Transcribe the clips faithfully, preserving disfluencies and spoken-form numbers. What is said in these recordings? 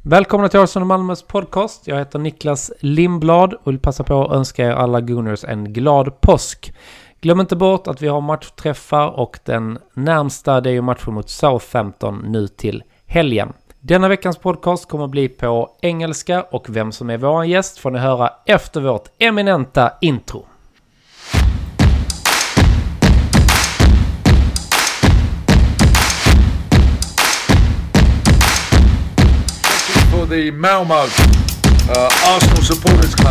Välkomna till Arsenal Malmös podcast. Jag heter Niklas Lindblad och vill passa på att önska er alla Gunners en glad påsk. Glöm inte bort att vi har matchträffar och den närmsta det är ju matchen mot Southampton nu till helgen. Denna veckans podcast kommer att bli på engelska och vem som är vår gäst får ni höra efter vårt eminenta intro. The Malmo uh, Arsenal Supporters Club.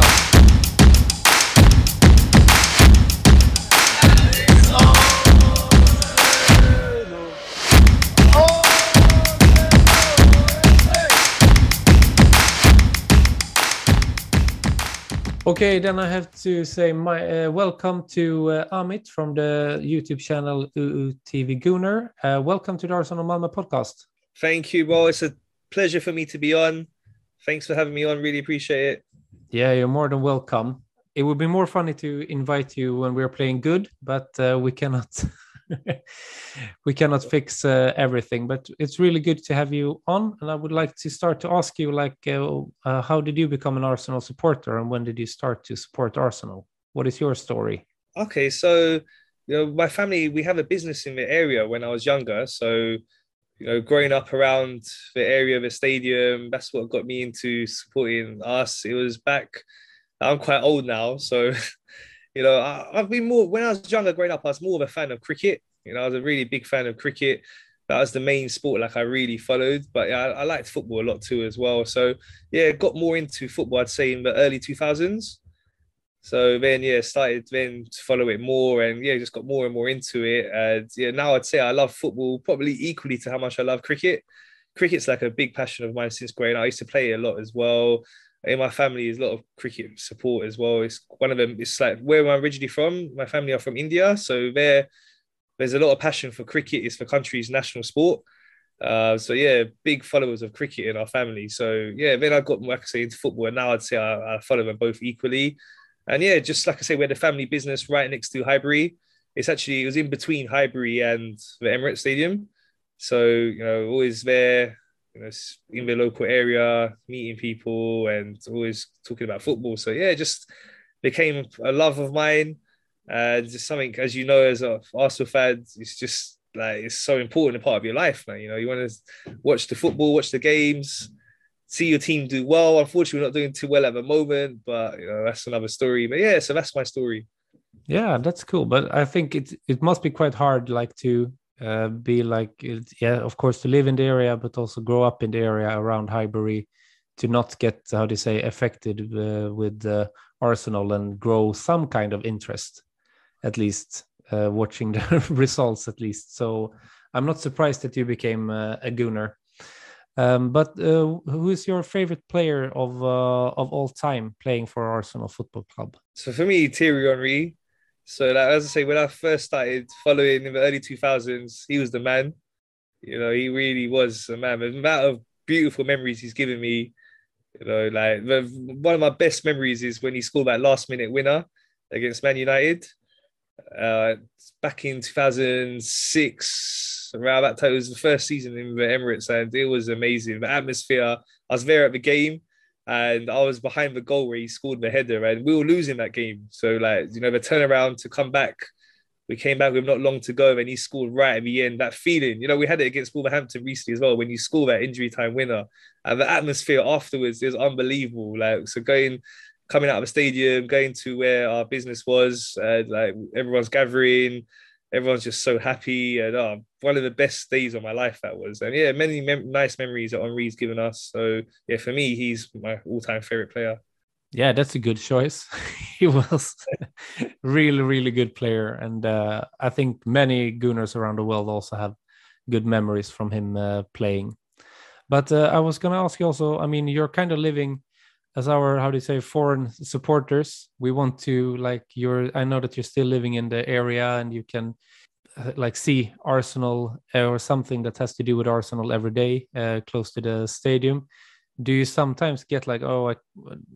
Okay, then I have to say my uh, welcome to uh, Amit from the YouTube channel U U T V Gunner. Uh, welcome to the Arsenal Malmö podcast. Thank you. Well, it's a pleasure for me to be on. Thanks for having me on. Really appreciate it. Yeah, you're more than welcome. It would be more funny to invite you when we're playing good, but uh, we cannot we cannot fix uh, everything. But it's really good to have you on, and I would like to start to ask you, like, uh, uh, how did you become an Arsenal supporter, and when did you start to support Arsenal? What is your story? Okay, so you know, my family, we have a business in the area when I was younger, so. You know, growing up around the area of the stadium, that's what got me into supporting us. It was back, I'm quite old now. So, you know, I, I've been more, when I was younger growing up, I was more of a fan of cricket. You know, I was a really big fan of cricket. That was the main sport like I really followed. But yeah, I, I liked football a lot too as well. So yeah, got more into football, I'd say in the early two thousands. So then, yeah, started then to follow it more and, yeah, just got more and more into it. And, yeah, now I'd say I love football probably equally to how much I love cricket. Cricket's like a big passion of mine since growing up. I used to play it a lot as well. In my family, there's a lot of cricket support as well. It's one of them, it's like where I'm originally from. My family are from India. So there, there's a lot of passion for cricket. It's the country's national sport. Uh, so, yeah, big followers of cricket in our family. So, yeah, then I got, like I say, into football. And now I'd say I, I follow them both equally. And yeah, just like I say, we had a family business right next to Highbury. It's actually, it was in between Highbury and the Emirates Stadium. So, you know, always there, you know, in the local area, meeting people and always talking about football. So yeah, just became a love of mine. And just something, as you know, as a Arsenal fan, it's just like, it's so important a part of your life, man. You know, you want to watch the football, watch the games, see your team do well. Unfortunately, we're not doing too well at the moment, but you know, that's another story. But yeah, so that's my story. Yeah, that's cool. But I think it it must be quite hard, like to uh, be like, yeah, of course, to live in the area, but also grow up in the area around Highbury, to not get, how do you say, affected uh, with uh, Arsenal and grow some kind of interest, at least uh, watching the results, at least. So I'm not surprised that you became uh, a Gunner. Um, but uh, who is your favorite player of uh, of all time playing for Arsenal Football Club? So for me, Thierry Henry. So like, as I say, when I first started following in the early two thousands, he was the man. You know, he really was a man. The amount of beautiful memories he's given me. You know, like the, one of my best memories is when he scored that last minute winner against Man United. Uh, back in two thousand six, around that time, it was the first season in the Emirates, and it was amazing. The atmosphere, I was there at the game, and I was behind the goal where he scored the header, and we were losing that game. So, like, you know, the turnaround to come back, we came back with not long to go, and he scored right at the end. That feeling, you know, we had it against Wolverhampton recently as well, when you score that injury time winner, and the atmosphere afterwards is unbelievable. Like, so going. Coming out of the stadium, going to where our business was, uh, like everyone's gathering, everyone's just so happy, and oh, one of the best days of my life that was. And yeah, many mem- nice memories that Henry's given us. So yeah, for me, he's my all-time favorite player. Yeah, that's a good choice. He was really, really good player, and uh, I think many Gunners around the world also have good memories from him uh, playing. But uh, I was going to ask you also. I mean, you're kind of living. As our, how do you say, foreign supporters, we want to, like, you're, I know that you're still living in the area and you can uh, like see Arsenal or something that has to do with Arsenal every day, uh, close to the stadium. Do you sometimes get like, oh, I,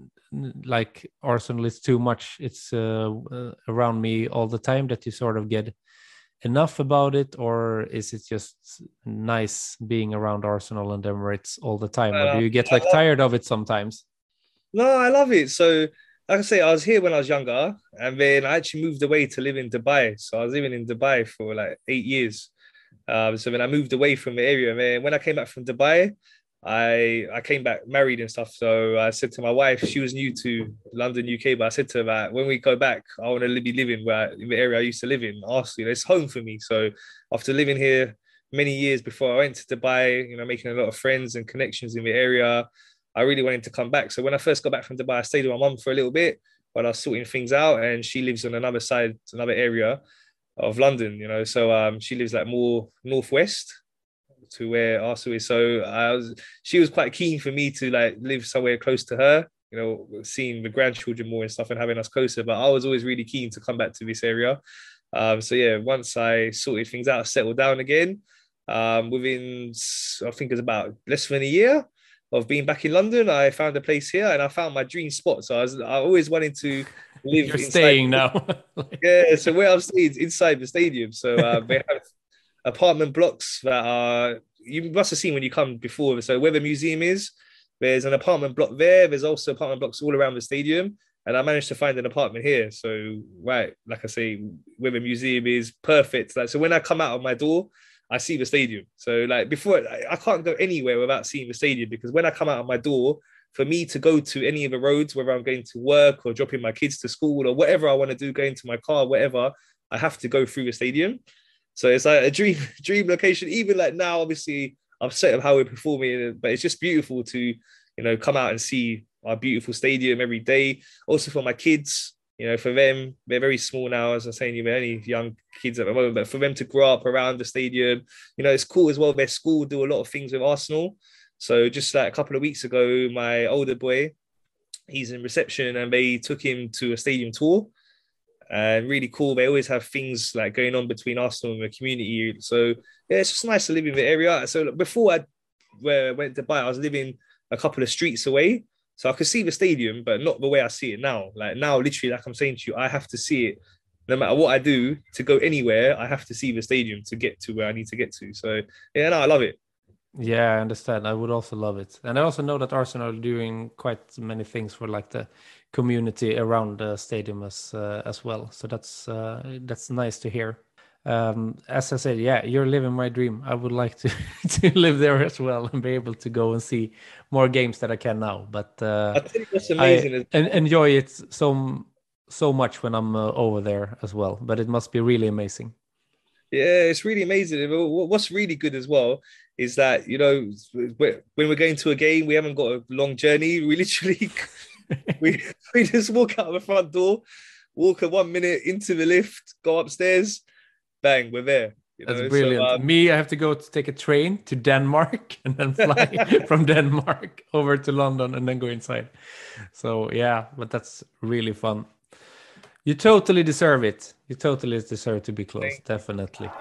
like Arsenal is too much, it's uh, uh, around me all the time, that you sort of get enough about it, or is it just nice being around Arsenal and Emirates all the time, or do Uh, you get I like love, tired of it sometimes? no, I love it. So, like I say, I was here when I was younger, and then I actually moved away to live in Dubai. So I was living in Dubai for like eight years. Um, so then I moved away from the area. And then when I came back from Dubai, I I came back married and stuff. So I said to my wife, she was new to London, U K, but I said to her that when we go back, I want to be living where in the area I used to live in. Arsenal, it's home for me. So after living here many years before I went to Dubai, you know, making a lot of friends and connections in the area, I really wanted to come back. So when I first got back from Dubai, I stayed with my mum for a little bit while I was sorting things out, and she lives on another side, another area of London, you know. So um, she lives like more northwest to where Arsenal is. So I was, she was quite keen for me to like live somewhere close to her, you know, seeing the grandchildren more and stuff and having us closer. But I was always really keen to come back to this area. Um, so yeah, once I sorted things out, settled down again, um, within I think it was about less than a year of being back in London, I found a place here and I found my dream spot. So I was I always wanted to live You're inside. staying now. Yeah, so where I'm staying is inside the stadium. So uh, they have apartment blocks that are, you must have seen when you come before. So where the museum is, there's an apartment block there. There's also apartment blocks all around the stadium. And I managed to find an apartment here. So, right, like I say, where the museum is, perfect. Like, so when I come out of my door, I see the stadium. So like before, I can't go anywhere without seeing the stadium, because when I come out of my door, for me to go to any of the roads, whether I'm going to work or dropping my kids to school or whatever I want to do, going to my car, whatever, I have to go through the stadium. So it's like a dream, dream location. Even like now, obviously, I'm set of how we're performing, but it's just beautiful to, you know, come out and see our beautiful stadium every day. Also for my kids, you know, for them, they're very small now, as I'm saying, you're only young kids at the moment, but for them to grow up around the stadium, you know, it's cool as well. Their school do a lot of things with Arsenal. So just like a couple of weeks ago, my older boy, he's in reception and they took him to a stadium tour. And really cool. They always have things like going on between Arsenal and the community. So yeah, it's just nice to live in the area. So before I where I went to Dubai, I was living a couple of streets away. So I could see the stadium, but not the way I see it now. Like now, literally, like I'm saying to you, I have to see it. No matter what I do to go anywhere, I have to see the stadium to get to where I need to get to. So yeah, no, I love it. Yeah, I understand. I would also love it. And I also know that Arsenal are doing quite many things for like the community around the stadium as uh, as well. So that's uh, that's nice to hear. Um, as I said, yeah, you're living my dream. I would like to to live there as well and be able to go and see more games that I can now. But uh, I think that's amazing. I en- enjoy it so so much when I'm uh, over there as well. But it must be really amazing. Yeah, it's really amazing. What's really good as well is that, you know, when we're going to a game, we haven't got a long journey. We literally, we, we just walk out the front door, walk a one minute into the lift, go upstairs, bang, we're there. You That's know? brilliant. So, um, Me, I have to go to take a train to Denmark and then fly from Denmark over to London and then go inside. So yeah, but that's really fun. You totally deserve it. You totally deserve to be close, definitely.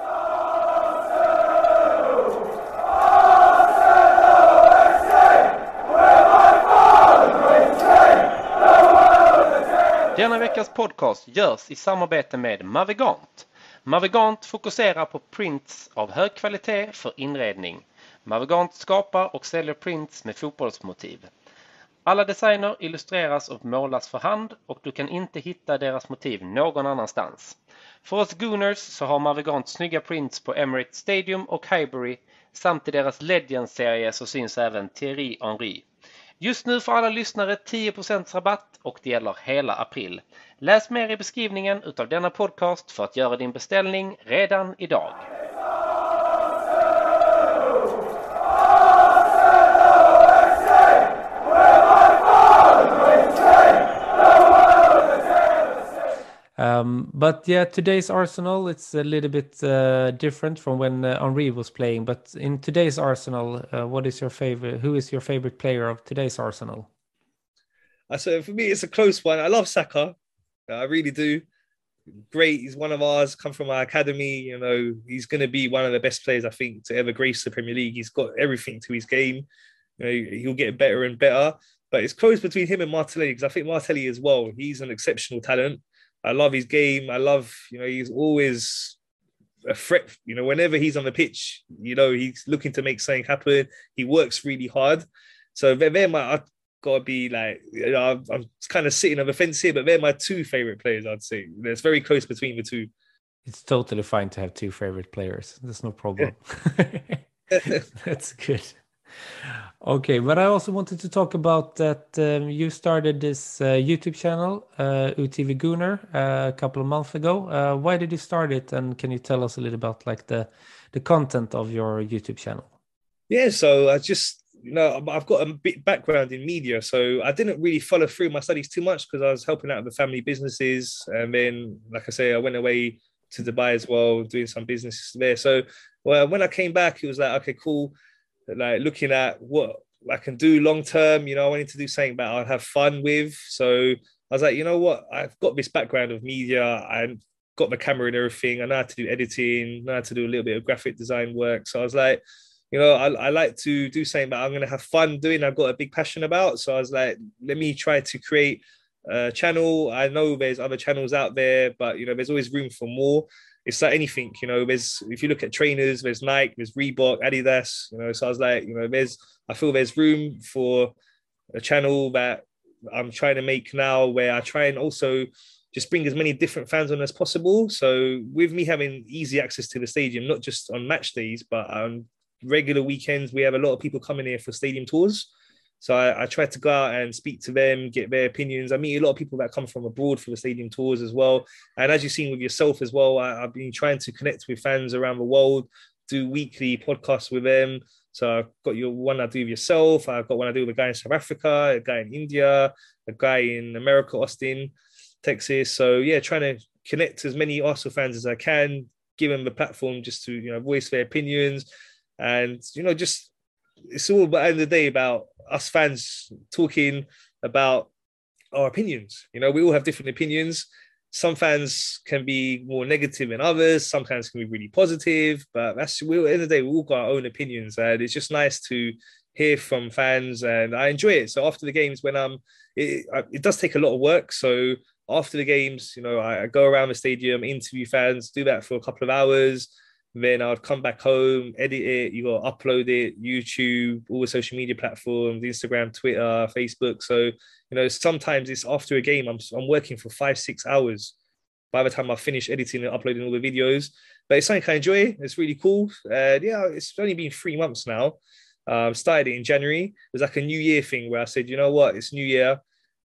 Denna veckas podcast görs i samarbete med Mavigant. Mavigant fokuserar på prints av hög kvalitet för inredning. Mavigant skapar och säljer prints med fotbollsmotiv. Alla designer illustreras och målas för hand och du kan inte hitta deras motiv någon annanstans. För oss Gooners så har Mavigant snygga prints på Emirates Stadium och Highbury, samt i deras Legends-serie så syns även Thierry Henry. Just nu får alla lyssnare tio procent rabatt och det gäller hela april. Läs mer i beskrivningen utav denna podcast för att göra din beställning redan idag. Um, but yeah, today's Arsenal, it's a little bit uh, different from when uh, Henry was playing. But in today's Arsenal, uh, what is your favorite? Who is your favorite player of today's Arsenal? Uh, so for me, it's a close one. I love Saka. I really do. Great. He's one of ours, come from our academy. You know, he's going to be one of the best players, I think, to ever grace the Premier League. He's got everything to his game. You know, he'll get better and better. But it's close between him and Martinelli, because I think Martinelli as well, he's an exceptional talent. I love his game. I love, you know, he's always a threat. You know, whenever he's on the pitch, you know, he's looking to make something happen. He works really hard. So they're, they're my, I've got to be like, you know, I'm, I'm kind of sitting on the fence here, but they're my two favorite players, I'd say. It's very close between the two. It's totally fine to have two favorite players. There's no problem. That's good. Okay, but I also wanted to talk about that um, you started this uh, YouTube channel, uh, U T V Gunnar, uh, a couple of months ago. Uh, why did you start it, and can you tell us a little about like the the content of your YouTube channel? Yeah, so I just, you know, I've got a bit background in media, so I didn't really follow through my studies too much because I was helping out with the family businesses, and then, like I say, I went away to Dubai as well, doing some business there. So, well, when I came back, it was like, okay, cool. Like looking at what I can do long term, you know, I wanted to do something that I'd have fun with. So I was like, you know what, I've got this background of media, I got the camera and everything. I know how to do editing, know how to do a little bit of graphic design work. So I was like, you know, I, I like to do something that I'm going to have fun doing. I've got a big passion about. So I was like, let me try to create a channel. I know there's other channels out there, but, you know, there's always room for more. It's like anything, you know, there's, if you look at trainers, there's Nike, there's Reebok, Adidas, you know, so I was like, you know, there's, I feel there's room for a channel that I'm trying to make now where I try and also just bring as many different fans on as possible. So with me having easy access to the stadium, not just on match days, but on regular weekends, we have a lot of people coming here for stadium tours. So I, I try to go out and speak to them, get their opinions. I meet a lot of people that come from abroad for the stadium tours as well. And as you've seen with yourself as well, I, I've been trying to connect with fans around the world, do weekly podcasts with them. So I've got your one I do with yourself. I've got one I do with a guy in South Africa, a guy in India, a guy in America, Austin, Texas. So yeah, trying to connect as many Arsenal fans as I can, give them the platform just to, you know, voice their opinions. And, you know, just, it's all at the end of the day about us fans talking about our opinions. You know, we all have different opinions. Some fans can be more negative than others. Some fans can be really positive, but that's, we, at the end of the day, we all got our own opinions, and it's just nice to hear from fans, and I enjoy it. So after the games, when I'm, it, it does take a lot of work. So after the games, you know, I, I go around the stadium, interview fans, do that for a couple of hours. Then I'd come back home, edit it, you got to upload it, YouTube, all the social media platforms, Instagram, Twitter, Facebook. So, you know, sometimes it's after a game, I'm, I'm working for five, six hours by the time I finish editing and uploading all the videos. But it's something I enjoy. It's really cool. Uh, yeah, it's only been three months now. Um, started it in January. It was like a New Year thing where I said, you know what, it's New Year,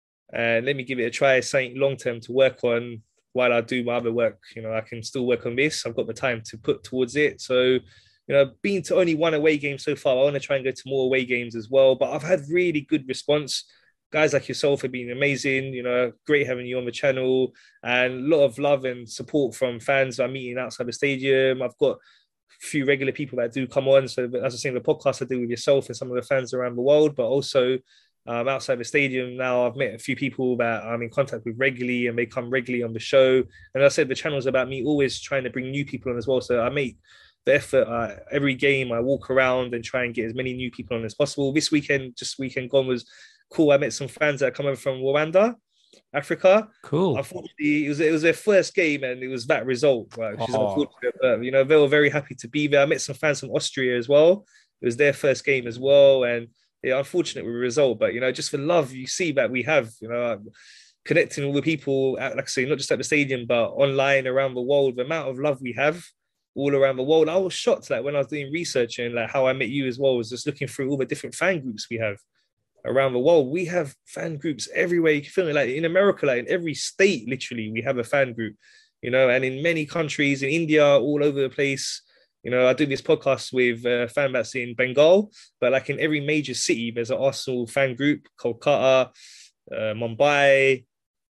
and let me give it a try, something long-term to work on. While I do my other work, you know, I can still work on this. I've got the time to put towards it. So, you know, being to only one away game so far, I want to try and go to more away games as well. But I've had really good response. Guys like yourself have been amazing. You know, great having you on the channel, and a lot of love and support from fans I'm meeting outside the stadium. I've got a few regular people that do come on. So, as I say, the podcast I do with yourself and some of the fans around the world, but also Um, outside the stadium now, I've met a few people that I'm in contact with regularly, and they come regularly on the show. And as I said, the channel is about me always trying to bring new people on as well. So I make the effort uh, every game. I walk around and try and get as many new people on as possible. This weekend, just weekend gone, was cool. I met some fans that are coming from Rwanda, Africa. Cool. Unfortunately, it was it was their first game, and it was that result, right, which is Oh. unfortunate. But, you know, they were very happy to be there. I met some fans from Austria as well. It was their first game as well, and yeah, unfortunate with the result, but, you know, just for love you see that we have, you know, connecting all the people, at, like I say, not just at the stadium, but online around the world, the amount of love we have all around the world. I was shocked, like, when I was doing research, and like how I met you as well, was just looking through all the different fan groups we have around the world. We have fan groups everywhere. You can feel it, like in America, like in every state, literally, we have a fan group, you know, and in many countries, in India, all over the place. You know, I do this podcast with a fan that's in Bengal, but like in every major city, there's an Arsenal fan group, Kolkata, uh, Mumbai,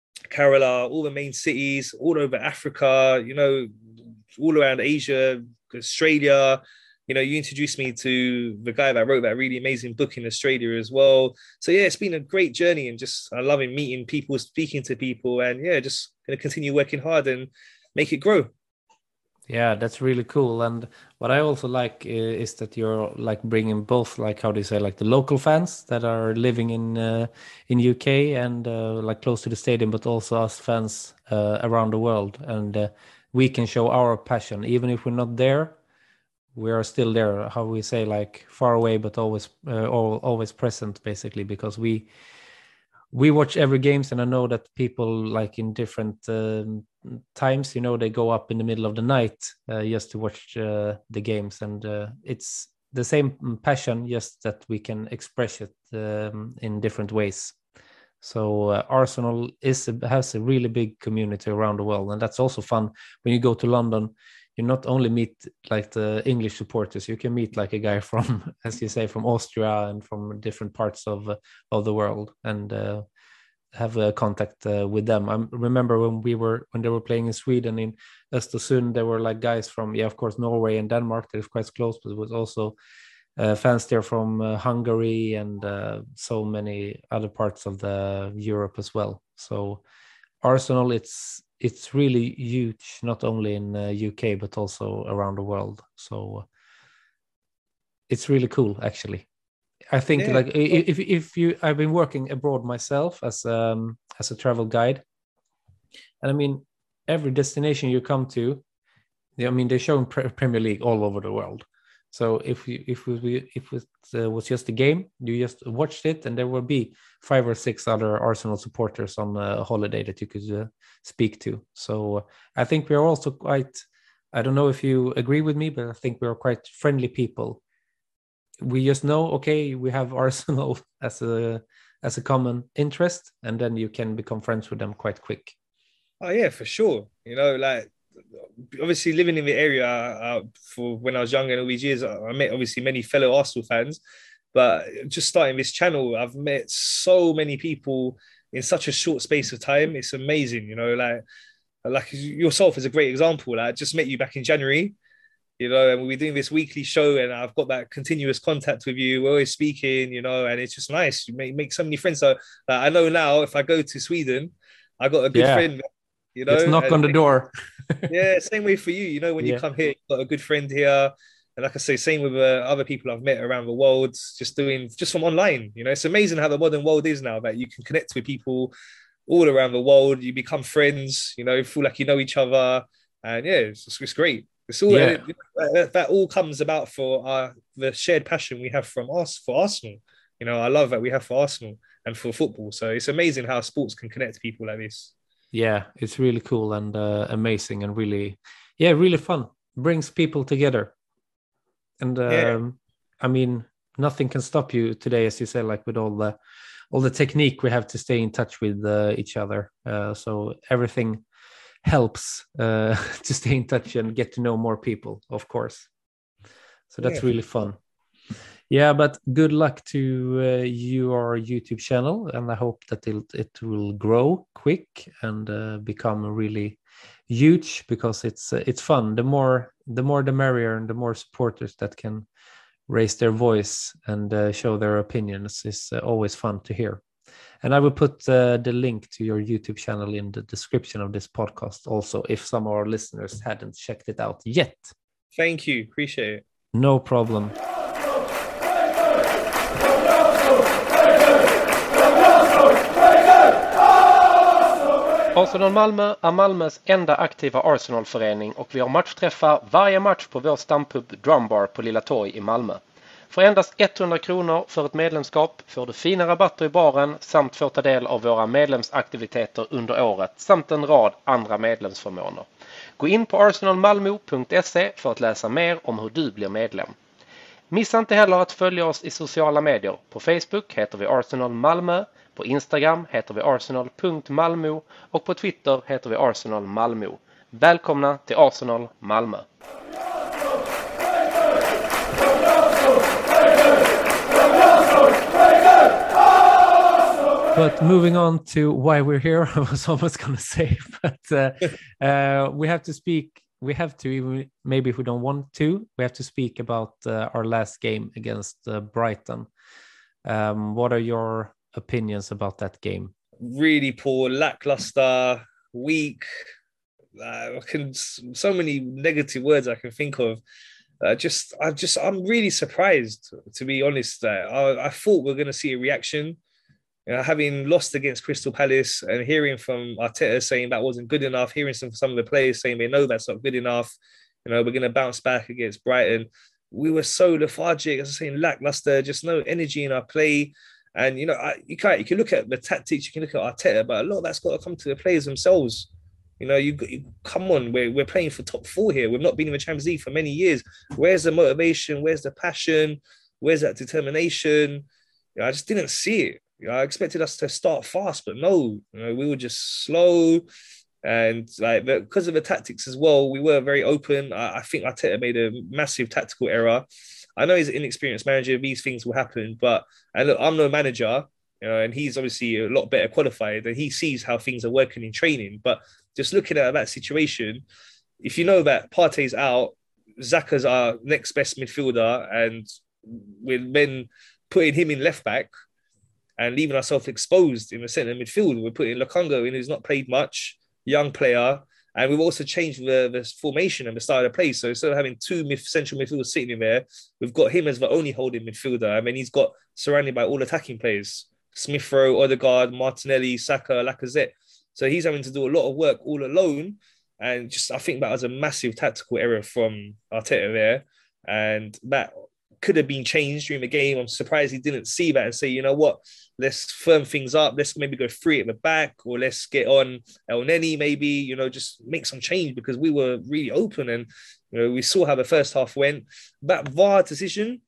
Kerala, all the main cities, all over Africa, you know, all around Asia, Australia. You know, you introduced me to the guy that wrote that really amazing book in Australia as well. So yeah, it's been a great journey, and just I love meeting people, speaking to people, and yeah, just going to continue working hard and make it grow. Yeah, that's really cool. And what I also like uh, is that you're like bringing both, like, how do you say, like the local fans that are living in uh, in U K and uh, like close to the stadium, but also us fans uh, around the world. And uh, we can show our passion, even if we're not there. We are still there. How we say, like far away, but always, uh, always present, basically, because we we watch every games, and I know that people like in different um, times, you know, they go up in the middle of the night uh, just to watch uh, the games, and uh, it's the same passion, just that we can express it um, in different ways. So uh, Arsenal is a, has a really big community around the world, and that's also fun when you go to London. You not only meet like the English supporters, you can meet like a guy from, as you say, from Austria and from different parts of uh, of the world, and uh, have a contact uh, with them. I remember when we were when they were playing in Sweden in Östersund, there were like guys from, yeah, of course, Norway and Denmark. That is quite close, but it was also uh, fans there from uh, Hungary and uh, so many other parts of the Europe as well. So Arsenal, it's it's really huge, not only in uh, U K but also around the world. So it's really cool, actually. I think yeah. like if if you, I've been working abroad myself as um as a travel guide, and I mean every destination you come to, I mean they're showing pre- Premier League all over the world. So if you if we if it uh, was just a game, you just watched it, and there will be five or six other Arsenal supporters on a holiday that you could uh, speak to. So uh, I think we are also quite. I don't know if you agree with me, but I think we are quite friendly people. We just know, okay, we have Arsenal as a as a common interest, and then you can become friends with them quite quick. Oh yeah, for sure. You know, like obviously living in the area uh, for when I was younger and all these years, I met obviously many fellow Arsenal fans. But just starting this channel, I've met so many people in such a short space of time. It's amazing, you know, like like yourself is a great example. Like, I just met you back in January. You know, and we're doing this weekly show, and I've got that continuous contact with you. We're always speaking, you know, and it's just nice. You make, make so many friends. So like, I know now if I go to Sweden, I got a good yeah. friend, you know. Let's knock and on the door. Yeah, same way for you. You know, when yeah. you come here, you've got a good friend here. And like I say, same with uh, other people I've met around the world, just doing, just from online. You know, it's amazing how the modern world is now, that you can connect with people all around the world. You become friends, you know, feel like you know each other. And yeah, it's, it's great. It's all yeah. it, that, that all comes about for our, the shared passion we have from us for Arsenal. You know, I love that we have for Arsenal and for football. So it's amazing how sports can connect people like this. Yeah, it's really cool and uh, amazing and really, yeah, really fun. Brings people together. And um, yeah. I mean, nothing can stop you today, as you say, like with all the all the technique we have to stay in touch with uh, each other. Uh, so everything helps uh, to stay in touch and get to know more people, of course. So that's yeah. really fun. Yeah, but good luck to uh, your YouTube channel, and I hope that it, it will grow quick and uh, become really huge, because it's uh, it's fun. The more the more the merrier, and the more supporters that can raise their voice and uh, show their opinions is uh, always fun to hear. And I will put uh, the link to your YouTube channel in the description of this podcast also, if some of our listeners hadn't checked it out yet. Thank you. Appreciate it. No problem. Arsenal Malmö är Malmös enda aktiva Arsenal-förening, och vi har matchträffar varje match på vår stampub Drumbar på Lilla Torg i Malmö. För endast hundra kronor för ett medlemskap får du fina rabatter i baren samt får ta del av våra medlemsaktiviteter under året samt en rad andra medlemsförmåner. Gå in på arsenal malmo punkt se för att läsa mer om hur du blir medlem. Missa inte heller att följa oss i sociala medier. På Facebook heter vi Arsenal Malmö, på Instagram heter vi arsenal punkt malmo och på Twitter heter vi Arsenal Malmö. Välkomna till Arsenal Malmö! But moving on to why we're here, I was almost going to say, but uh, uh, we have to speak, we have to, even maybe if we don't want to, we have to speak about uh, our last game against uh, Brighton. Um, what are your opinions about that game? Really poor, lackluster, weak. Uh, I can, so many negative words I can think of. Uh, just, I just, I'm really surprised, to be honest. Uh, I, I thought we we're going to see a reaction. You know, having lost against Crystal Palace and hearing from Arteta saying that wasn't good enough, hearing some some of the players saying they know that's not good enough. You know, we're going to bounce back against Brighton. We were so lethargic, as I was saying, lackluster, just no energy in our play. And, you know, I, you can't, you can look at the tactics, you can look at Arteta, but a lot of that's got to come to the players themselves. You know, you, you come on, we're, we're playing for top four here. We've not been in the Champions League for many years. Where's the motivation? Where's the passion? Where's that determination? You know, I just didn't see it. You know, I expected us to start fast, but no, you know, we were just slow. And like because of the tactics as well, we were very open. I, I think Arteta made a massive tactical error. I know he's an inexperienced manager. These things will happen, but and look, I'm no manager, you know, and he's obviously a lot better qualified, and he sees how things are working in training. But just looking at that situation, if you know that Partey's out, Xhaka's our next best midfielder, and we're then putting him in left back and leaving ourselves exposed in the centre midfield, we're putting Lokonga in, who's not played much, young player, and we've also changed the, the formation and the style of play. So instead of having two mid, central midfielders sitting in there, we've got him as the only holding midfielder. I mean, he's got surrounded by all attacking players: Smith Rowe, Odegaard, Martinelli, Saka, Lacazette. So he's having to do a lot of work all alone. And just I think that was a massive tactical error from Arteta there. And that could have been changed during the game. I'm surprised he didn't see that and say, you know what, let's firm things up. Let's maybe go three at the back, or let's get on El Neni maybe, you know, just make some change, because we were really open and, you know, we saw how the first half went. That V A R decision,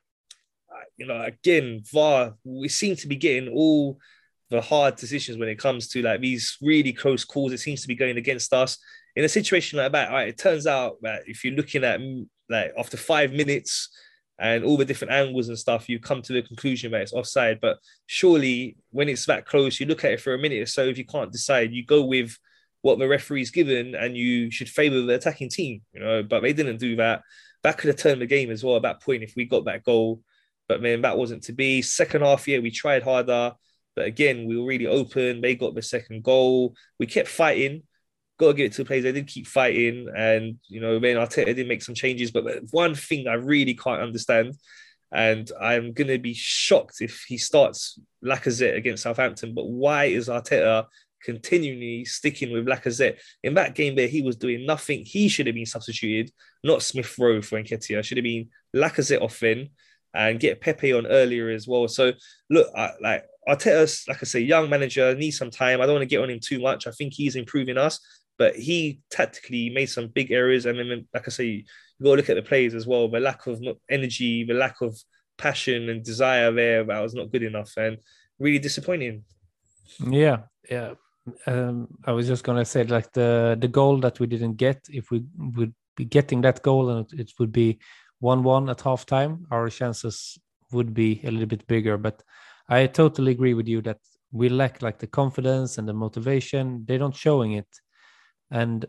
you know, again, V A R, we seem to be getting all the hard decisions when it comes to like these really close calls. It seems to be going against us. In a situation like that, right, it turns out that if you're looking at like after five minutes, and all the different angles and stuff, you come to the conclusion that it's offside. But surely when it's that close, you look at it for a minute or so. If you can't decide, you go with what the referee's given and you should favour the attacking team, you know, but they didn't do that. That could have turned the game as well at that point if we got that goal. But man, that wasn't to be. Second half, yeah, we tried harder. But again, we were really open. They got the second goal. We kept fighting. Got to give it to the players. They did keep fighting, and you know, then Arteta did make some changes. But one thing I really can't understand, and I'm gonna be shocked if he starts Lacazette against Southampton. But why is Arteta continually sticking with Lacazette in that game there? He was doing nothing. He should have been substituted, not Smith Rowe for Nketiah. Should have been Lacazette off then, and get Pepe on earlier as well. So look, I, like Arteta's, like I say, young manager, needs some time. I don't want to get on him too much. I think he's improving us. But he tactically made some big errors. And then, like I say, you got to look at the players as well. The lack of energy, the lack of passion and desire there, that was not good enough and really disappointing. Yeah, yeah. Um, I was just going to say, like, the, the goal that we didn't get, if we would be getting that goal and it would be one one at halftime, our chances would be a little bit bigger. But I totally agree with you that we lack, like, the confidence and the motivation. They're not showing it. And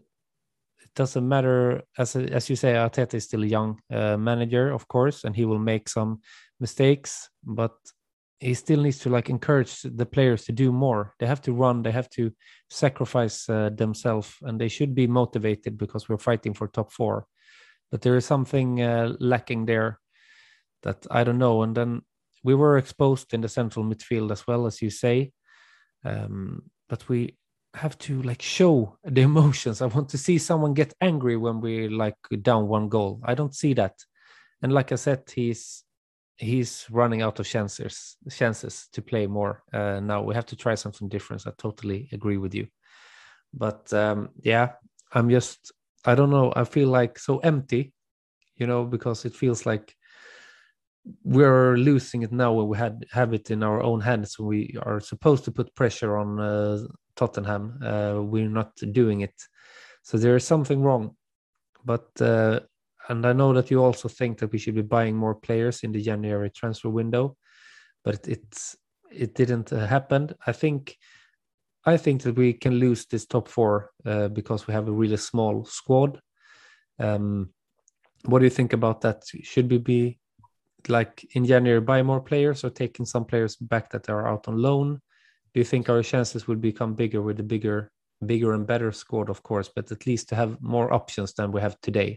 it doesn't matter, as as you say, Arteta is still a young uh, manager, of course, and he will make some mistakes, but he still needs to like encourage the players to do more. They have to run, they have to sacrifice uh, themselves, and they should be motivated because we're fighting for top four. But there is something uh, lacking there that I don't know. And then we were exposed in the central midfield as well, as you say, um, but we have to like show the emotions. I want to see someone get angry when we like down one goal. I don't see that. And like I said, he's he's running out of chances chances to play more. Uh, now we have to try something different. I totally agree with you. But um, yeah, I'm just, I don't know. I feel like so empty, you know, because it feels like we're losing it now when we had have it in our own hands. We are supposed to put pressure on uh, Tottenham. Uh, we're not doing it. So there is something wrong. But uh, and I know that you also think that we should be buying more players in the January transfer window, but it, it's it didn't uh, happen. I think I think that we can lose this top four uh, because we have a really small squad. Um, what do you think about that? Should we be like in January buy more players or taking some players back that are out on loan? Do you think our chances would become bigger with a bigger, bigger and better squad, of course, but at least to have more options than we have today?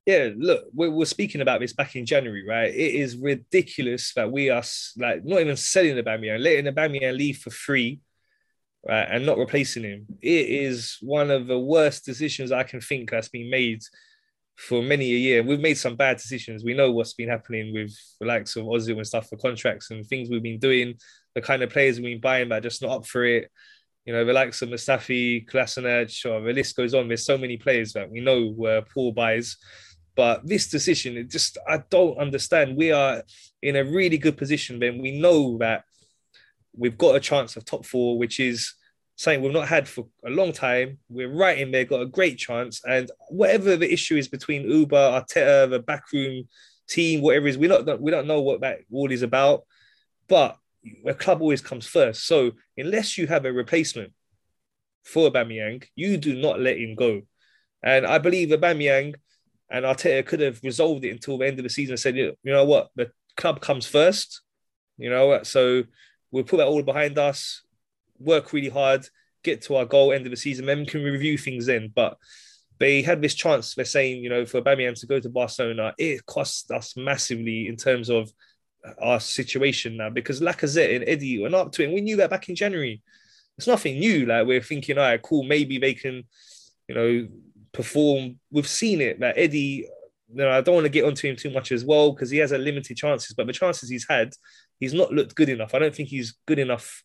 Yeah, look, we were speaking about this back in January, right? It is ridiculous that we are like not even selling Aubameyang, letting Aubameyang leave for free, right, and not replacing him. It is one of the worst decisions I can think that's been made for many a year. We've made some bad decisions. We know what's been happening with the likes of Ozil and stuff for contracts and things we've been doing, the kind of players we've been buying that are just not up for it. You know, the likes of Mustafi, Kolasinac, or the list goes on. There's so many players that we know were poor buys. But this decision, it just, I don't understand. We are in a really good position, Ben. We know that we've got a chance of top four, which is something we've not had for a long time. We're right in there, got a great chance. And whatever the issue is between Uber, Arteta, the backroom team, whatever it is, we don't, we don't know what that all is about. But a club always comes first. So unless you have a replacement for Aubameyang, you do not let him go. And I believe Aubameyang and Arteta could have resolved it until the end of the season and said, you know what, the club comes first, you know, so we'll put that all behind us, work really hard, get to our goal, end of the season, then we can review things then. But they had this chance, they're saying, you know, for Aubameyang to go to Barcelona, it cost us massively in terms of our situation now, because Lacazette and Eddie went up to it. And we knew that back in January. It's nothing new. Like, we're thinking, all right, cool, maybe they can, you know, perform. We've seen it that Eddie, you know, I don't want to get onto him too much as well because he has a limited chances, but the chances he's had, he's not looked good enough. I don't think he's good enough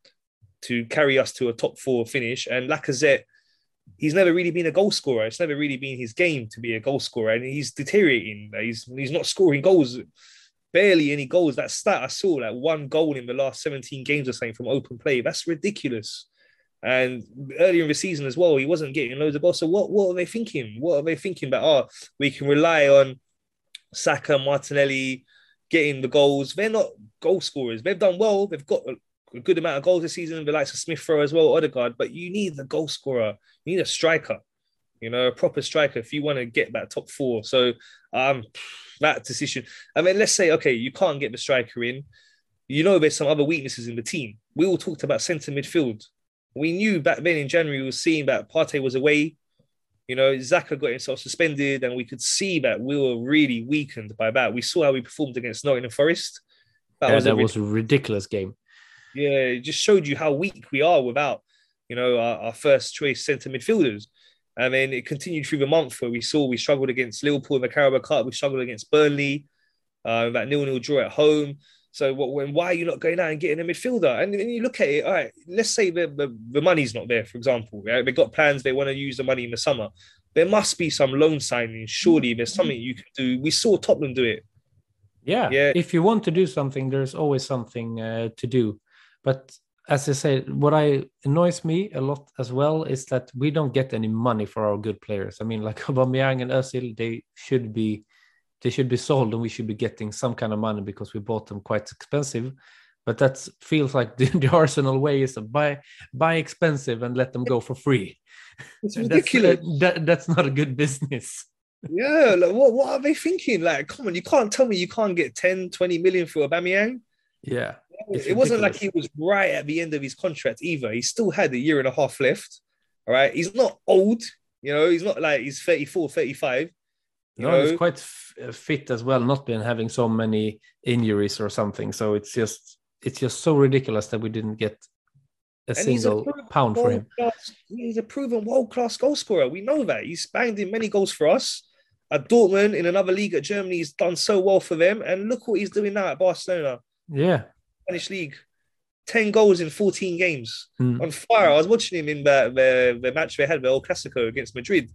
to carry us to a top four finish. And Lacazette, he's never really been a goal scorer. It's never really been his game to be a goal scorer, and he's deteriorating. He's he's not scoring goals, barely any goals. That stat I saw, like one goal in the last seventeen games or something from open play. That's ridiculous. And earlier in the season as well, he wasn't getting loads of goals. So what, what are they thinking? What are they thinking about? Oh, we can rely on Saka, Martinelli getting the goals. They're not goal scorers. They've done well. They've got a good amount of goals this season. The likes of Smith Rowe as well, Odegaard. But you need the goal scorer. You need a striker, you know, a proper striker if you want to get that top four. So um, that decision. I mean, let's say, okay, you can't get the striker in. You know, there's some other weaknesses in the team. We all talked about centre midfield. We knew back then in January, we were seeing that Partey was away. You know, Xhaka got himself suspended, and we could see that we were really weakened by that. We saw how we performed against Nottingham Forest. That yeah, was, that a, was a ridiculous game. Yeah, it just showed you how weak we are without, you know, our, our first choice centre midfielders. And then it continued through the month where we saw we struggled against Liverpool in the Carabao Cup. We struggled against Burnley, uh, that nil-nil draw at home. So what, when, why are you not going out and getting a midfielder? And then you look at it, all right, let's say the, the, the money's not there, for example. Right? They've got plans, they want to use the money in the summer. There must be some loan signing. Surely there's something you can do. We saw Tottenham do it. Yeah, yeah. If you want to do something, there's always something uh, to do. But as I said, what I annoys me a lot as well is that we don't get any money for our good players. I mean, like Aubameyang and Özil, they should be They should be sold, and we should be getting some kind of money because we bought them quite expensive. But that feels like the, the Arsenal way is to buy buy expensive and let them go for free. It's ridiculous. That's, uh, that, that's not a good business. Yeah, like what, what are they thinking? Like, come on, you can't tell me you can't get ten, twenty million for Aubameyang. Yeah. It wasn't like he was right at the end of his contract either. He still had a year and a half left. All right. He's not old, you know, he's not like he's thirty-four, thirty-five. You no, know? He's quite f- fit as well, not been having so many injuries or something. So it's just it's just so ridiculous that we didn't get a and single a pound for him. Class, he's a proven world-class goal scorer. We know that. He's banged in many goals for us. At Dortmund, in another league at Germany, he's done so well for them. And look what he's doing now at Barcelona. Yeah. Spanish league. ten goals in fourteen games. Mm. On fire. I was watching him in the, the, the match they had, the El Clasico against Madrid.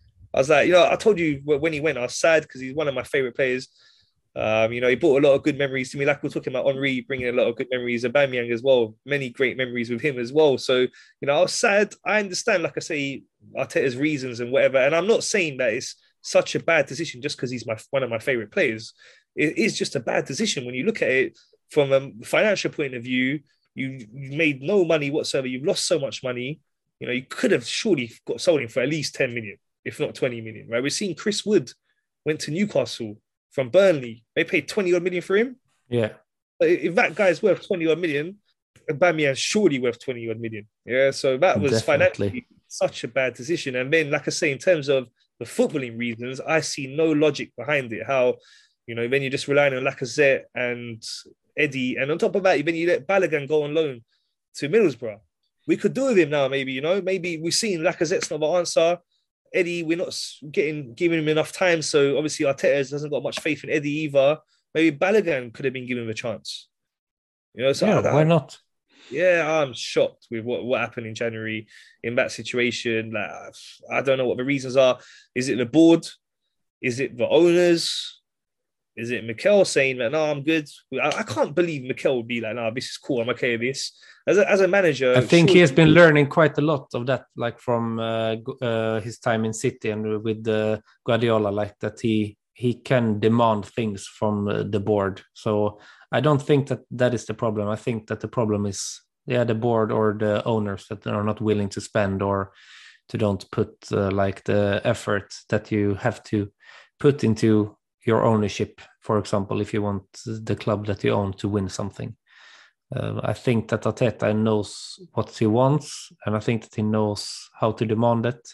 I was like, you know, I told you when he went, I was sad because he's one of my favorite players. Um, you know, he brought a lot of good memories to me. Like we're talking about Henry bringing a lot of good memories, Aubameyang as well. Many great memories with him as well. So, you know, I was sad. I understand, like I say, Arteta's reasons and whatever. And I'm not saying that it's such a bad decision just because he's my one of my favorite players. It is just a bad decision when you look at it from a financial point of view. You, you made no money whatsoever. You've lost so much money. You know, you could have surely got sold him for at least ten million. If not twenty million, right? We're seeing Chris Wood went to Newcastle from Burnley. They paid twenty odd million for him. Yeah. If that guy's worth twenty odd million, Aubameyang's surely worth twenty odd million. Yeah. So that was Definitely. financially such a bad decision. And then, like I say, in terms of the footballing reasons, I see no logic behind it. How, you know, when you're just relying on Lacazette and Eddie, and on top of that, when you let Balogun go on loan to Middlesbrough, we could do with him now, maybe, you know, maybe we've seen Lacazette's not the answer. Eddie, we're not getting giving him enough time. So obviously Arteta hasn't got much faith in Eddie either. Maybe Balogun could have been given a chance. You know, so yeah, I, why not? Yeah, I'm shocked with what, what happened in January in that situation. Like, I don't know what the reasons are. Is it the board? Is it the owners? Is it Mikel saying that, no, I'm good? I, I can't believe Mikel would be like, no, this is cool. I'm okay with this. As a, as a manager... I think he has been learning quite a lot of that, like from uh, uh, his time in City and with uh, Guardiola, like that he he can demand things from uh, the board. So I don't think that that is the problem. I think that the problem is, yeah, the board or the owners that are not willing to spend or to don't put uh, like the effort that you have to put into your ownership, for example, if you want the club that you own to win something. Uh, I think that Arteta knows what he wants, and I think that he knows how to demand it,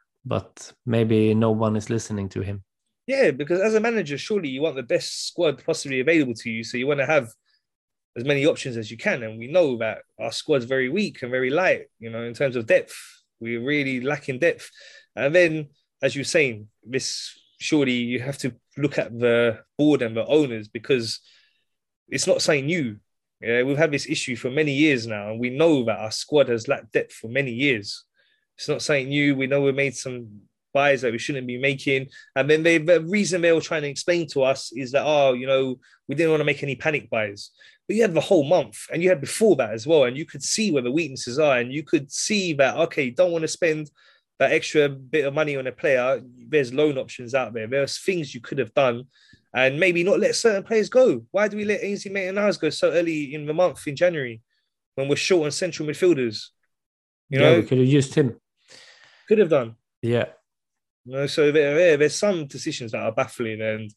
but maybe no one is listening to him. Yeah, because as a manager, surely you want the best squad possibly available to you. So you want to have as many options as you can. And we know that our squad's very weak and very light, you know, in terms of depth. We're really lacking depth. And then, as you're saying, this surely you have to look at the board and the owners, because it's not something new. Yeah, we've had this issue for many years now, and we know that our squad has lacked depth for many years. It's not something new. We know we made some buys that we shouldn't be making. And then they, the reason they were trying to explain to us is that, oh, you know, we didn't want to make any panic buys. But you had the whole month, and you had before that as well. And you could see where the weaknesses are. And you could see that, okay, don't want to spend that extra bit of money on a player. There's loan options out there. There's things you could have done and maybe not let certain players go. Why do we let Ainsley Maitland-Niles go so early in the month in January when we're short on central midfielders? You yeah, know, we could have used him. Could have done. Yeah. You know, so there, there's some decisions that are baffling, and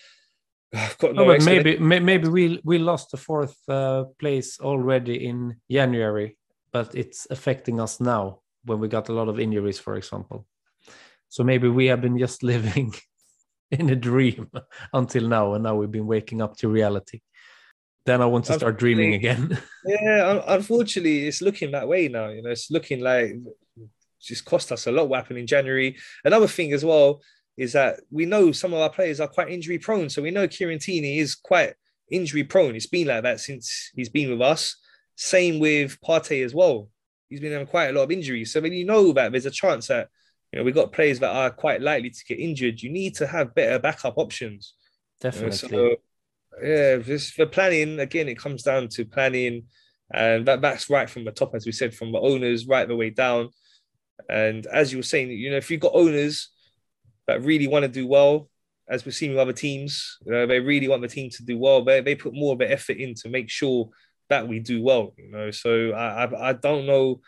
I've got no. no but maybe maybe we we lost the fourth uh, place already in January, but it's affecting us now when we got a lot of injuries, for example. So maybe we have been just living in a dream until now, and now we've been waking up to reality. Then I want to start dreaming again. Yeah, unfortunately, it's looking that way now. You know, it's looking like it's just cost us a lot what happened in January. Another thing as well is that we know some of our players are quite injury prone. So we know Kieran Tierney is quite injury prone. It's been like that since he's been with us. Same with Partey as well. He's been having quite a lot of injuries. So when you know that there's a chance that, you know, we've got players that are quite likely to get injured, you need to have better backup options. Definitely. You know, so, yeah, just for planning, again, it comes down to planning. And that, that's right from the top, as we said, from the owners right the way down. And as you were saying, you know, if you've got owners that really want to do well, as we've seen with other teams, you know, they really want the team to do well. They, they put more of an effort in to make sure that we do well, you know. So I, I, I don't know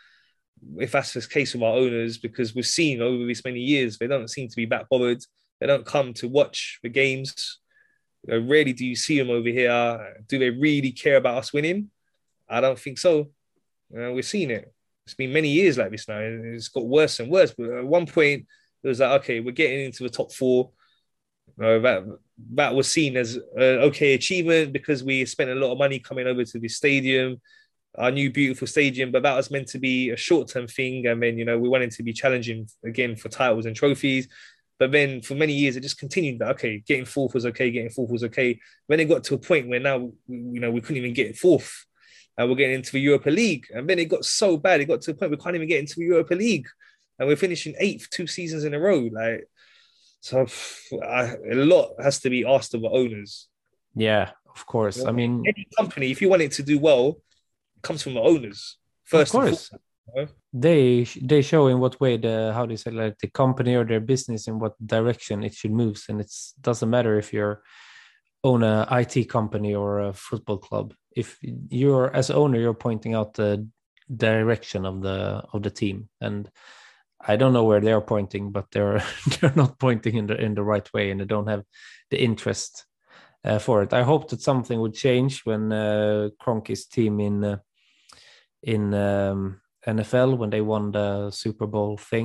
if that's the case with our owners, because we've seen over these many years, they don't seem to be that bothered. They don't come to watch the games. You know, rarely do you see them over here. Do they really care about us winning? I don't think so. You know, we've seen it. It's been many years like this now. It's got worse and worse. But at one point, it was like, okay, we're getting into the top four. You know, that, that was seen as an okay achievement because we spent a lot of money coming over to the stadium, our new beautiful stadium, but that was meant to be a short-term thing. And then, you know, we wanted to be challenging again for titles and trophies. But then for many years, it just continued that, okay, getting fourth was okay, getting fourth was okay. When it got to a point where now, you know, we couldn't even get fourth. And we're getting into the Europa League. And then it got so bad, it got to a point we can't even get into the Europa League. And we're finishing eighth two seasons in a row. Like, so I, a lot has to be asked of the owners. Yeah, of course. I mean, any company, if you want it to do well, it comes from the owners first. Of course. And foremost, you know? They they show in what way the how do you say like the company or their business in what direction it should move, and it doesn't matter if you're own a I T company or a football club. If you're as owner, you're pointing out the direction of the of the team, and I don't know where they're pointing, but they're they're not pointing in the in the right way, and they don't have the interest uh, for it. I hope that something would change when uh, Kroenke's team in uh, in um, N F L when they won the Super Bowl thing.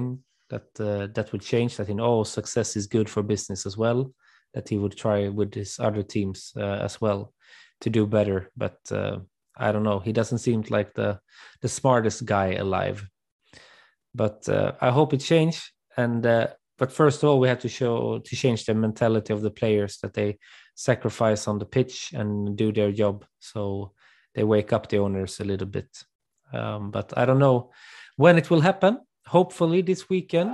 that uh, that would change. That in all success is good for business as well. That he would try with his other teams uh, as well to do better. But uh, I don't know. He doesn't seem like the the smartest guy alive. But uh, I hope it change. And uh, but first of all, we have to show to change the mentality of the players, that they sacrifice on the pitch and do their job, so they wake up the owners a little bit. Um, but I don't know when it will happen. Hopefully this weekend.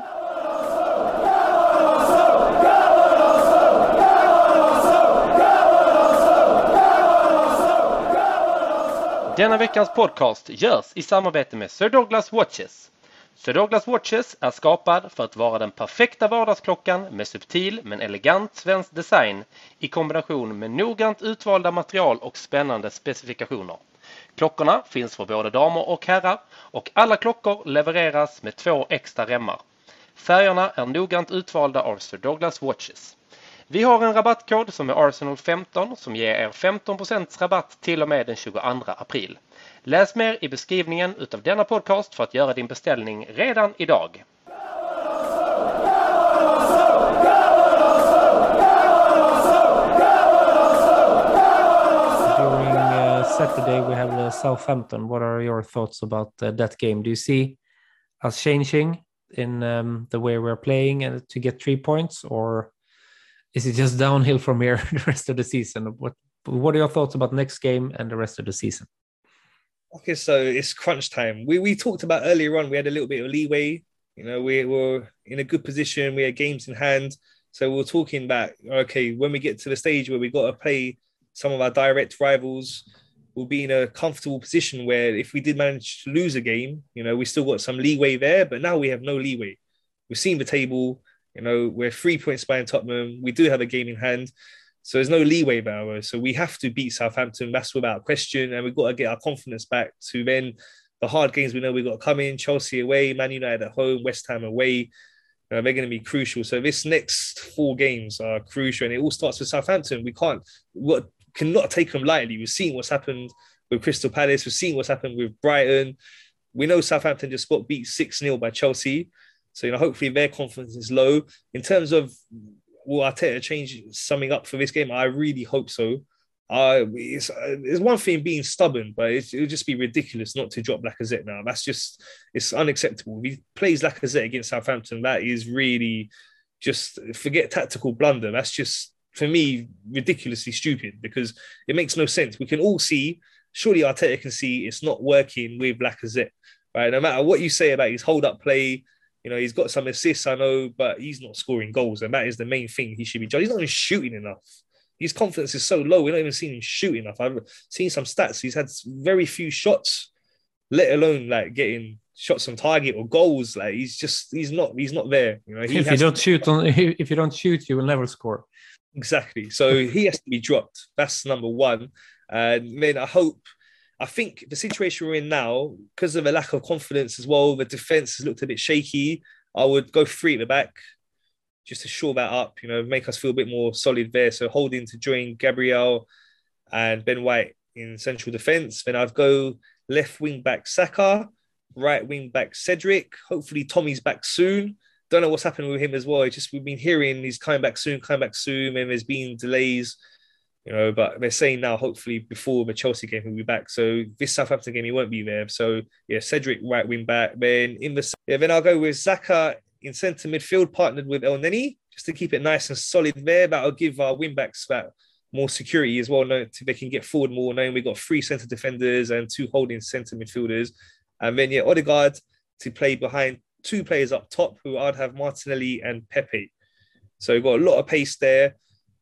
Denna veckans podcast görs i samarbete med Sir Douglas Watches. Sir Douglas Watches är skapad för att vara den perfekta vardagsklockan med subtil men elegant svensk design i kombination med noggrant utvalda material och spännande specifikationer. Klockorna finns för både damer och herrar och alla klockor levereras med två extra remmar. Färgerna är noggrant utvalda av Sir Douglas Watches. Vi har en rabattkod som är Arsenal femton som ger er femton procent rabatt till och med den tjugoandra april. Läs mer i beskrivningen utav denna podcast för att göra din beställning redan idag. During uh, Saturday we have uh, Southampton. What are your thoughts about uh, that game? Do you see us changing in um, the way we're playing and to get three points, or is it just downhill from here the rest of the season? What What are your thoughts about next game and the rest of the season? Okay, so it's crunch time. We we talked about earlier on, we had a little bit of leeway. You know, we were in a good position. We had games in hand. So we we're talking about, okay, when we get to the stage where we got to play some of our direct rivals, we'll be in a comfortable position where if we did manage to lose a game, you know, we still got some leeway there. But now we have no leeway. We've seen the table. You know, we're three points behind Tottenham. We do have a game in hand. So there's no leeway there. So we have to beat Southampton. That's without question. And we've got to get our confidence back to then the hard games we know we've got to come in. Chelsea away, Man United at home, West Ham away. Uh, they're going to be crucial. So this next four games are crucial. And it all starts with Southampton. We can't, what cannot take them lightly. We've seen what's happened with Crystal Palace. We've seen what's happened with Brighton. We know Southampton just got beat six nil by Chelsea. So, you know, hopefully their confidence is low. In terms of, will Arteta change something up for this game? I really hope so. Uh, it's, uh, it's one thing being stubborn, but it would just be ridiculous not to drop Lacazette now. That's just, it's unacceptable. If he plays Lacazette against Southampton, that is really just, forget tactical blunder. That's just, for me, ridiculously stupid because it makes no sense. We can all see, surely Arteta can see it's not working with Lacazette, right? No matter what you say about his hold-up play, you know, he's got some assists, I know, but he's not scoring goals. And that is the main thing he should be judged. He's not even shooting enough. His confidence is so low. We're not even seeing him shoot enough. I've seen some stats. He's had very few shots, let alone like getting shots on target or goals. Like he's just, he's not, he's not there. You know, he if you don't to... shoot on, if you don't shoot, you will never score. Exactly. So he has to be dropped. That's number one. And then I hope, I think the situation we're in now, because of a lack of confidence as well, the defence has looked a bit shaky. I would go three at the back just to shore that up, you know, make us feel a bit more solid there. So holding to join Gabriel and Ben White in central defence. Then I'd go left wing back Saka, right wing back Cedric. Hopefully Tommy's back soon. Don't know what's happening with him as well. It's just we've been hearing he's coming back soon, coming back soon, and there's been delays. You know, but they're saying now, hopefully before the Chelsea game, he'll be back. So this Southampton game, he won't be there. So yeah, Cedric right wing back. Then in the yeah, then I'll go with Xhaka in centre midfield, partnered with El Neni, just to keep it nice and solid there. That'll give our wing backs that more security as well. Knowing they can get forward more. Knowing we've got three centre defenders and two holding centre midfielders, and then yeah, Odegaard to play behind two players up top, who I'd have Martinelli and Pepe. So we've got a lot of pace there.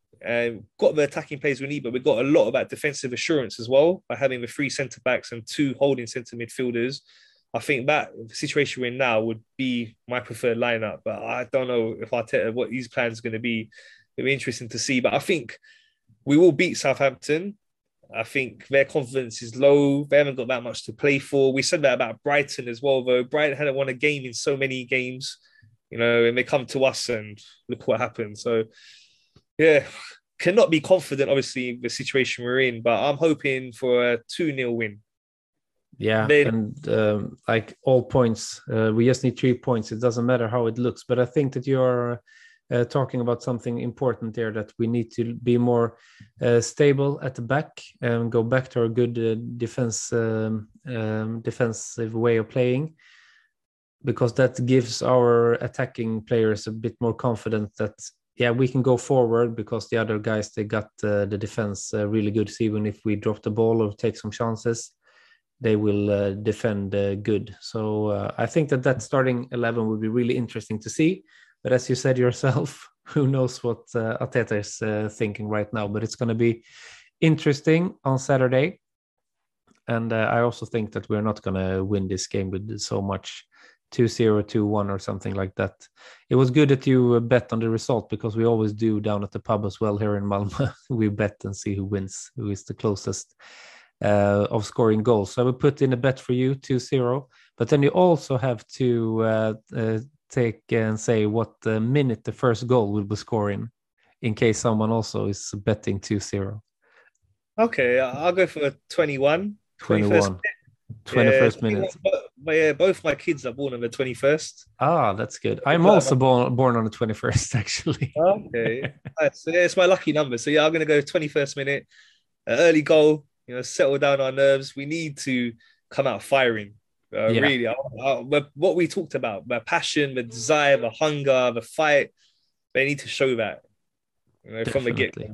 And got the attacking players we need, but we've got a lot of that defensive assurance as well by having the three centre backs and two holding centre midfielders. I think that the situation we're in now would be my preferred lineup, but I don't know if Arteta what his plans are going to be. It'll be interesting to see, but I think we will beat Southampton. I think their confidence is low. They haven't got that much to play for. We said that about Brighton as well, though. Brighton hadn't won a game in so many games, you know, and they come to us and look what happened. So. Yeah, cannot be confident, obviously, the situation we're in, but I'm hoping for a two nil win. Yeah, Then, and um, like all points, uh, we just need three points. It doesn't matter how it looks, but I think that you're uh, talking about something important there, that we need to be more uh, stable at the back and go back to our good uh, defense um, um, defensive way of playing, because that gives our attacking players a bit more confidence that, yeah, we can go forward, because the other guys, they got uh, the defense uh, really good. So even if we drop the ball or take some chances, they will uh, defend uh, good. So uh, I think that that starting eleven would be really interesting to see. But as you said yourself, who knows what uh, Arteta is uh, thinking right now. But it's going to be interesting on Saturday. And uh, I also think that we're not going to win this game with so much two zero, two one or something like that. It was good that you bet on the result, because we always do down at the pub as well here in Malmö. We bet and see who wins, who is the closest uh, of scoring goals. So I will put in a bet for you, two zero. But then you also have to uh, uh, take and say what uh, minute the first goal will be scoring, in case someone also is betting two zero. okay, I'll go for twenty-one. twenty-one. twenty-first yeah, minute. But yeah, both my kids are born on the twenty-first. Ah, that's good. I'm also born born on the twenty-first, actually. Okay. Right, so yeah, it's my lucky number. So yeah, I'm gonna go twenty-first minute, an early goal, you know, settle down our nerves. We need to come out firing. Uh, Yeah. Really, I, I, but what we talked about, the passion, the desire, the hunger, the fight, they need to show that, you know, from the get. Definitely.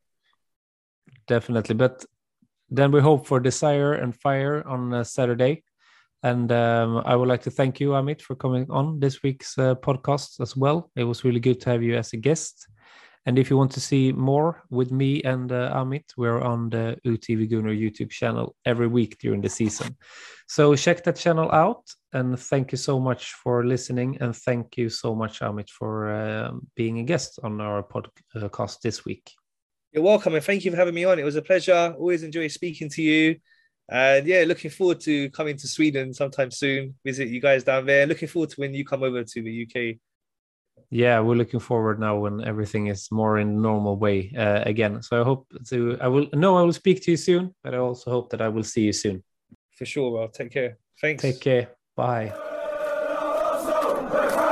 Definitely. But then we hope for desire and fire on uh, Saturday. And um, I would like to thank you, Amit, for coming on this week's uh, podcast as well. It was really good to have you as a guest. And if you want to see more with me and uh, Amit, we're on the U T V Gunnar YouTube channel every week during the season. So check that channel out. And thank you so much for listening. And thank you so much, Amit, for uh, being a guest on our podcast this week. You're welcome, and thank you for having me on. It was a pleasure. Always enjoy speaking to you. And yeah, looking forward to coming to Sweden sometime soon, visit you guys down there. Looking forward to when you come over to the U K. Yeah, we're looking forward now when everything is more in normal way uh, again. So I hope to, I will, no, I will speak to you soon, but I also hope that I will see you soon. For sure, well, take care. Thanks. Take care. Bye.